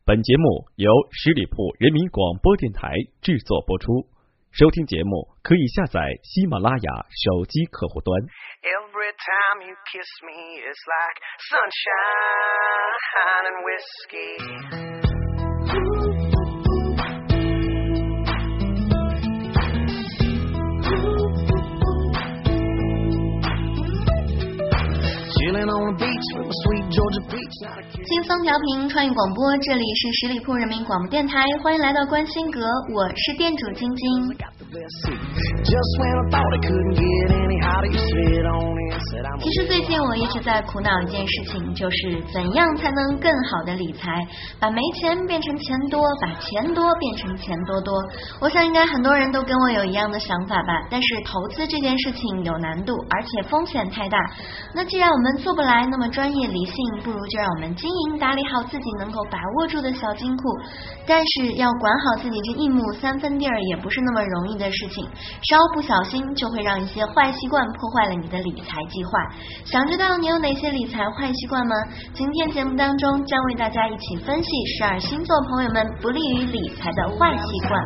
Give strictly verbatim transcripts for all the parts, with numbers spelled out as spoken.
本节目由十里铺人民广播电台制作播出。收听节目可以下载喜马拉雅手机客户端。 Every time you kiss me, it's like sunshine and whiskey. 轻松调频创意广播，这里是十里铺人民广播电台，欢迎来到观星阁，我是店主晶晶。其实最近我一直在苦恼一件事情，就是怎样才能更好的理财，把没钱变成钱多，把钱多变成钱多多。我想应该很多人都跟我有一样的想法吧，但是投资这件事情有难度，而且风险太大。那既然我们做不来那么专业理性，不如就让我们经营打理好自己能够把握住的小金库。但是要管好自己这一亩三分地儿也不是那么容易的事情，稍不小心就会让一些坏习惯破坏了你的理财计划。想知道你有哪些理财坏习惯吗？今天节目当中将为大家一起分析十二星座朋友们不利于理财的坏习惯。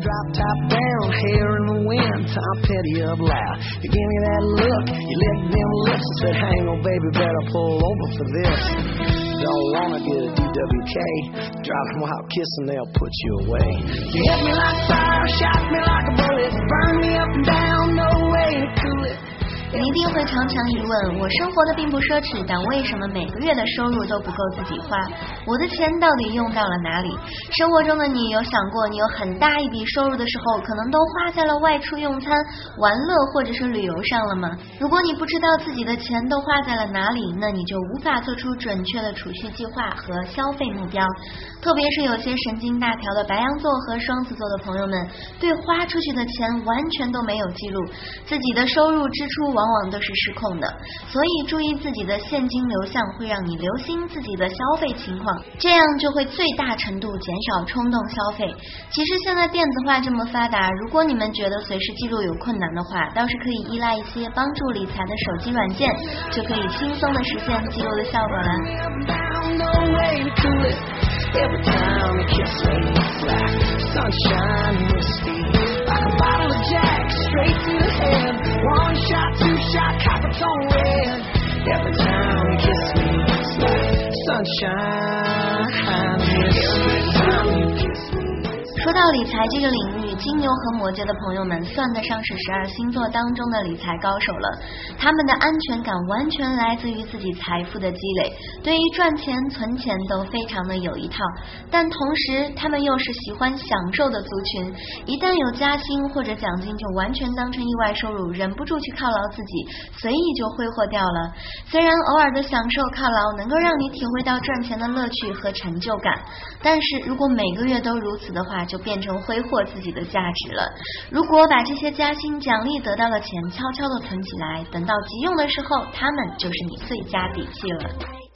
Don't wanna get a D W K, driving while kissing, they'll put you away. You hit me like fire, shot me like a bullet, burn me up and down, no way to cool it. 你一定会常常疑问，我生活的并不奢侈，但为什么每个月的收入都不够自己花？我的钱到底用到了哪里？生活中的你有想过，你有很大一笔收入的时候，可能都花在了外出用餐、玩乐或者是旅游上了吗？如果你不知道自己的钱都花在了哪里，那你就无法做出准确的储蓄计划和消费目标。特别是有些神经大条的白羊座和双子座的朋友们，对花出去的钱完全都没有记录，自己的收入支出往往都是失控的，所以注意自己的现金流向会让你留心自己的消费情况，这样就会最大程度减少冲动消费。其实现在电子化这么发达，如果你们觉得随时记录有困难的话，倒是可以依赖一些帮助理财的手机软件，就可以轻松的实现记录的效果了。Every time you kiss me, it's like sunshine and whiskey, like a bottle of Jack straight to the head. One shot, two shot, Coppertone red. Every time you kiss me, it's like sunshine and whiskey. Every time you kiss me.说到理财这个领域，金牛和摩羯的朋友们算得上是十二星座当中的理财高手了。他们的安全感完全来自于自己财富的积累，对于赚钱存钱都非常的有一套。但同时他们又是喜欢享受的族群，一旦有加薪或者奖金就完全当成意外收入，忍不住去犒劳自己，随意就挥霍掉了。虽然偶尔的享受犒劳能够让你体会到赚钱的乐趣和成就感，但是如果每个月都如此的话，就变成挥霍自己的价值了。如果把这些加薪奖励得到的钱悄悄的存起来，等到急用的时候，他们就是你最佳底气了。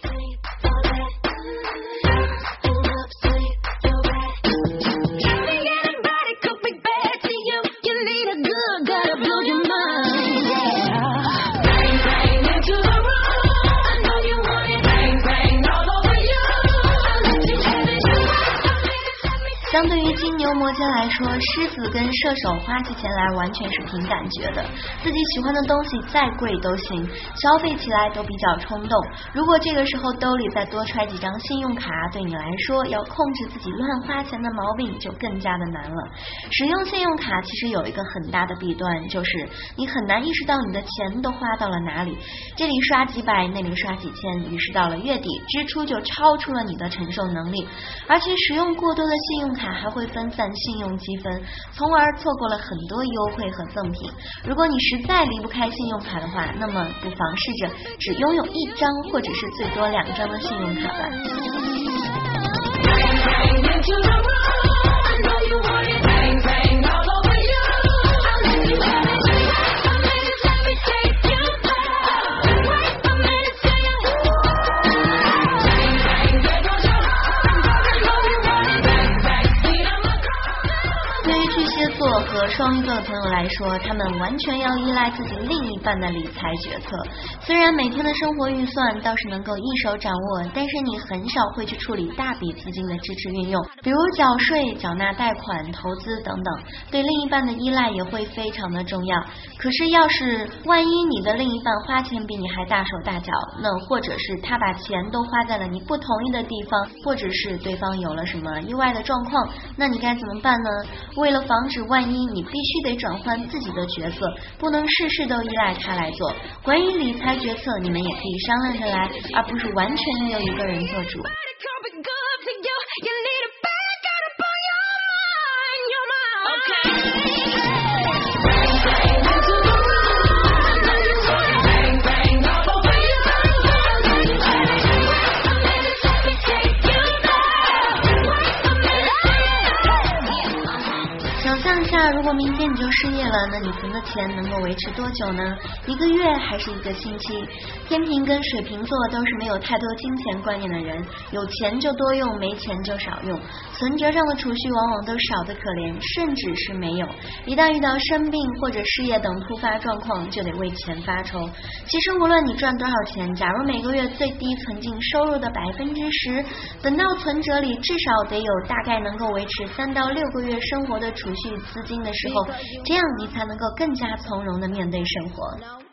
相对于金牛摩羯来说，狮子跟射手花起钱来完全是凭感觉的，自己喜欢的东西再贵都行，消费起来都比较冲动。如果这个时候兜里再多揣几张信用卡，对你来说要控制自己乱花钱的毛病就更加的难了。使用信用卡其实有一个很大的弊端，就是你很难意识到你的钱都花到了哪里，这里刷几百，那里刷几千，于是到了月底支出就超出了你的承受能力。而且使用过多的信用卡还会分散信用积分，从而错过了很多优惠和赠品。如果你实在离不开信用卡的话，那么不妨试着只拥有一张或者是最多两张的信用卡吧。 和双鱼座的朋友来说，他们完全要依赖自己另一半的理财决策。虽然每天的生活预算倒是能够一手掌握，但是你很少会去处理大笔资金的支持运用，比如缴税、缴纳贷款、投资等等，对另一半的依赖也会非常的重要。可是要是万一你的另一半花钱比你还大手大脚，那或者是他把钱都花在了你不同意的地方，或者是对方有了什么意外的状况，那你该怎么办呢？为了防止万一，你必须得转换自己的角色，不能事事都依赖他来做。关于理财决策，你们也可以商量着来，而不是完全由一个人做主。如果明天你就失业了，那你存的钱能够维持多久呢？一个月还是一个星期？天平跟水瓶座都是没有太多金钱观念的人，有钱就多用，没钱就少用，存折上的储蓄往往都少得可怜，甚至是没有。一旦遇到生病或者失业等突发状况，就得为钱发愁。其实无论你赚多少钱，假如每个月最低存进收入的百分之十，等到存折里至少得有大概能够维持三到六个月生活的储蓄资金的时候，这样你才能够更加从容的面对生活。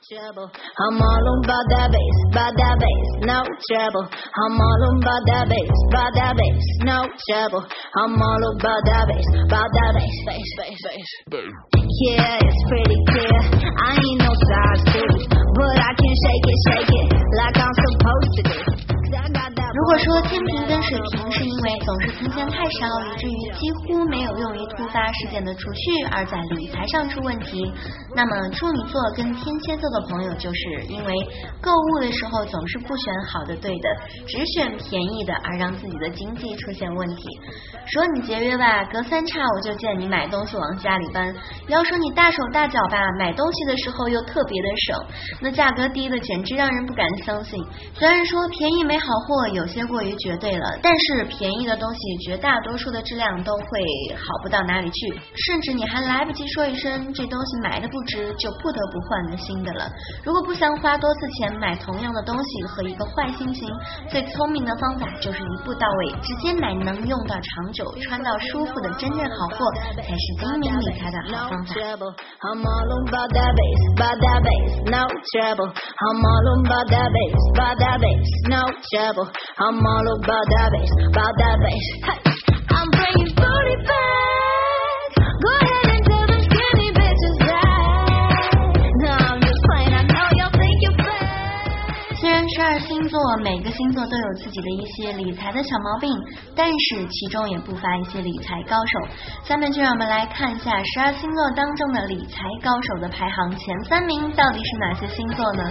I'm all about that bass, about that bass, no trouble. I'm all about that bass, about that bass, no trouble. I'm all about that bass, about that bass, bass, bass, bass. Yeah, it's pretty clear. I ain't no size two, but I can shake it, shake it like I'm supposed to do. 如果说天平跟水瓶是因为总是存钱太少，以至于几乎没有用于突发事件的储蓄而在理财上出问题，那么处女座跟天蝎座的朋友就是因为购物的时候总是不选好的对的，只选便宜的，而让自己的经济出现问题。说你节约吧，隔三差五就见你买东西往家里搬；要说你大手大脚吧，买东西的时候又特别的省，那价格低的简直让人不敢相信。虽然说便宜没好货，有些过于绝对了，但是便宜的东西绝大多数的质量都会好不到哪里去，甚至你还来不及说一声这东西买的不值，就不得不换个新的了。如果不想花多次钱买同样的东西和一个坏心情，最聪明的方法就是一步到位，直接买能用到长久、穿到舒服的真正好货，才是精明理财的好方法。 I'm all about that bass, about that bass, no trouble. I'm all about that bass, about that bass, no trouble. I'm all about that bass, about that bass. Hey, I'm bringing booty back. Go ahead and tell them skinny bitches that. No, I'm just playing. I know y'all think you're bad. 虽然十二星座每个星座都有自己的一些理财的小毛病，但是其中也不乏一些理财高手。下面就让我们来看一下十二星座当中的理财高手的排行前三名到底是哪些星座呢？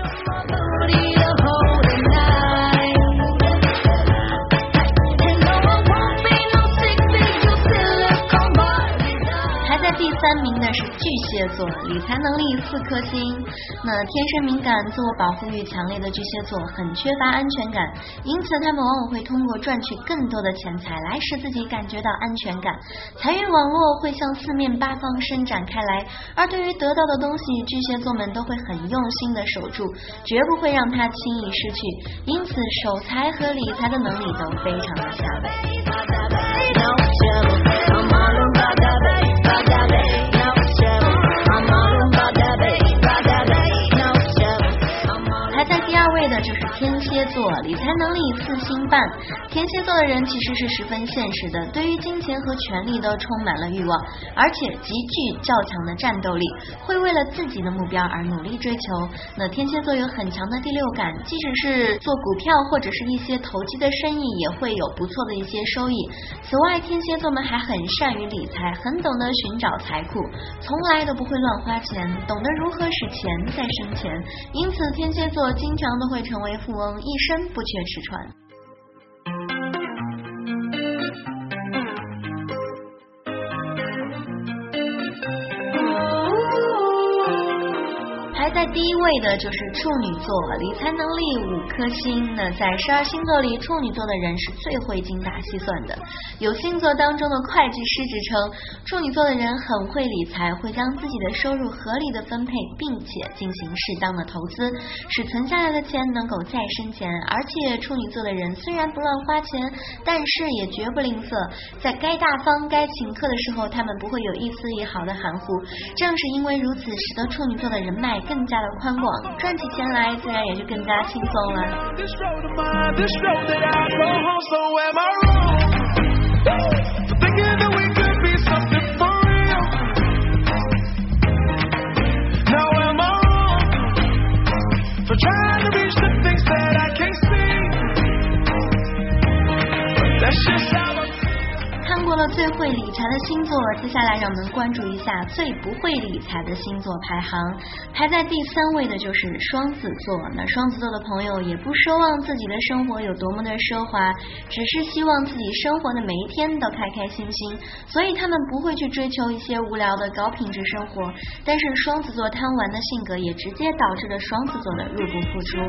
第三名的是巨蟹座，理财能力四颗星。那天生敏感、自我保护欲强烈的巨蟹座很缺乏安全感，因此他们往往会通过赚取更多的钱财来使自己感觉到安全感。财运网络会向四面八方伸展开来，而对于得到的东西，巨蟹座们都会很用心的守住，绝不会让它轻易失去，因此守财和理财的能力都非常的强。排在第二位的就是天蝎座，理财能力四星半。天蝎座的人其实是十分现实的，对于金钱和权力都充满了欲望，而且极具较强的战斗力，会为了自己的目标而努力追求。那天蝎座有很强的第六感，即使是做股票或者是一些投机的生意，也会有不错的一些收益。此外，天蝎座们还很善于理财，很懂得寻找财库，从来都不会乱花钱，懂得如何使钱再生钱，因此天蝎座经常都会成为富翁，一生不缺吃穿。排在第一位的就是处女座，理财能力五颗星。那在十二星座里，处女座的人是最会精打细算的，有星座当中的会计师之称。处女座的人很会理财，会将自己的收入合理的分配，并且进行适当的投资，使存下来的钱能够再生钱。而且处女座的人虽然不乱花钱，但是也绝不吝啬，在该大方该请客的时候，他们不会有一丝一毫的含糊。正是因为如此，使得处女座的人脉更加的宽广，赚起钱来自然也就更加轻松了。看过了最会理财的星座，接下来让我们关注一下最不会理财的星座排行。排在第三位的就是双子座。那双子座的朋友也不奢望自己的生活有多么的奢华，只是希望自己生活的每一天都开开心心，所以他们不会去追求一些无聊的高品质生活。但是双子座贪玩的性格也直接导致了双子座的入不敷出。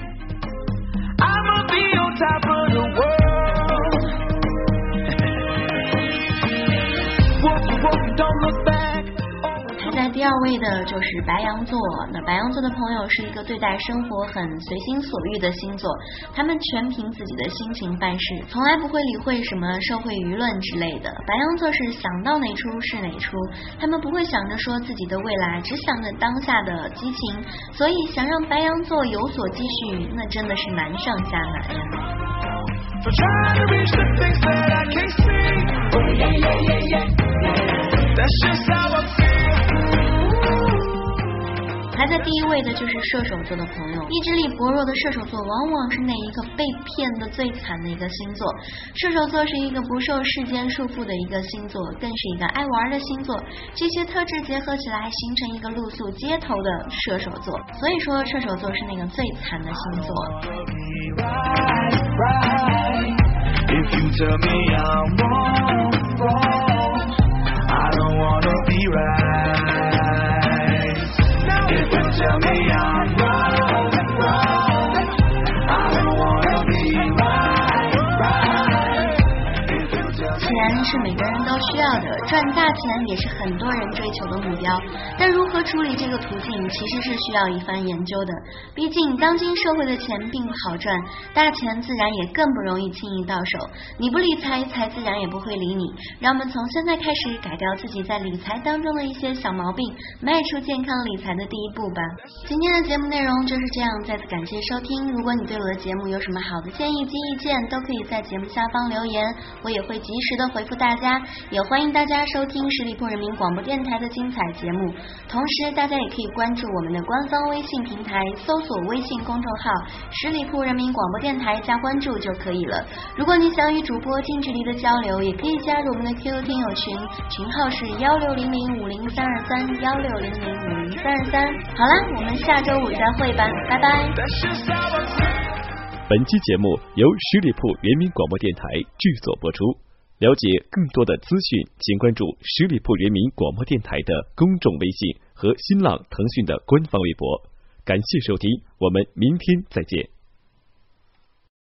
排在第二位的就是白羊座。那白羊座的朋友是一个对待生活很随心所欲的星座，他们全凭自己的心情办事，从来不会理会什么社会舆论之类的。白羊座是想到哪出是哪出，他们不会想着说自己的未来，只想着当下的激情，所以想让白羊座有所积蓄，那真的是难上加难呀。排在第一位的就是射手座的朋友，意志力薄弱的射手座往往是那一个被骗的最惨的一个星座。射手座是一个不受世间束缚的一个星座，更是一个爱玩的星座，这些特质结合起来形成一个露宿街头的射手座，所以说射手座是那个最惨的星座。If you tell me I'm wrong, wrong, I don't wanna be right. If you tell me I'm wrong, wrong, I don't wanna be right, right. 钱是每个人都需要的，赚大钱也是很多人追求的目标，但如何处理这个途径其实是需要一番研究的。毕竟当今社会的钱并不好赚，大钱自然也更不容易轻易到手，你不理财，财自然也不会理你。让我们从现在开始改掉自己在理财当中的一些小毛病，迈出健康理财的第一步吧。今天的节目内容就是这样，再次感谢收听。如果你对我的节目有什么好的建议及意见，都可以在节目下方留言，我也会及时的回复大家。也欢迎大家收听十里铺人民广播电台的精彩节目，同时大家也可以关注我们的官方微信平台，搜索微信公众号十里铺人民广播电台加关注就可以了。如果你想与主播近距离的交流，也可以加入我们的 Q Q 听友群，群号是幺六零零五零三二三幺六零零五零三二三。好了，我们下周五再会吧，拜拜。 本期节目由十里铺人民广播电台制作播出。了解更多的资讯，请关注十里铺人民广播电台的公众微信和新浪、腾讯的官方微博。感谢收听，我们明天再见。